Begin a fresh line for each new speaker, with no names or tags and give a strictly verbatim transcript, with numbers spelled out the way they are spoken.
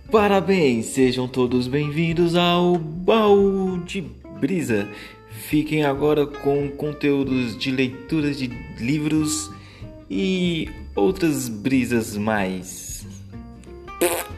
Parabéns, sejam todos bem-vindos ao Baú de Brisa. Fiquem agora com conteúdos de leituras de livros e outras brisas mais.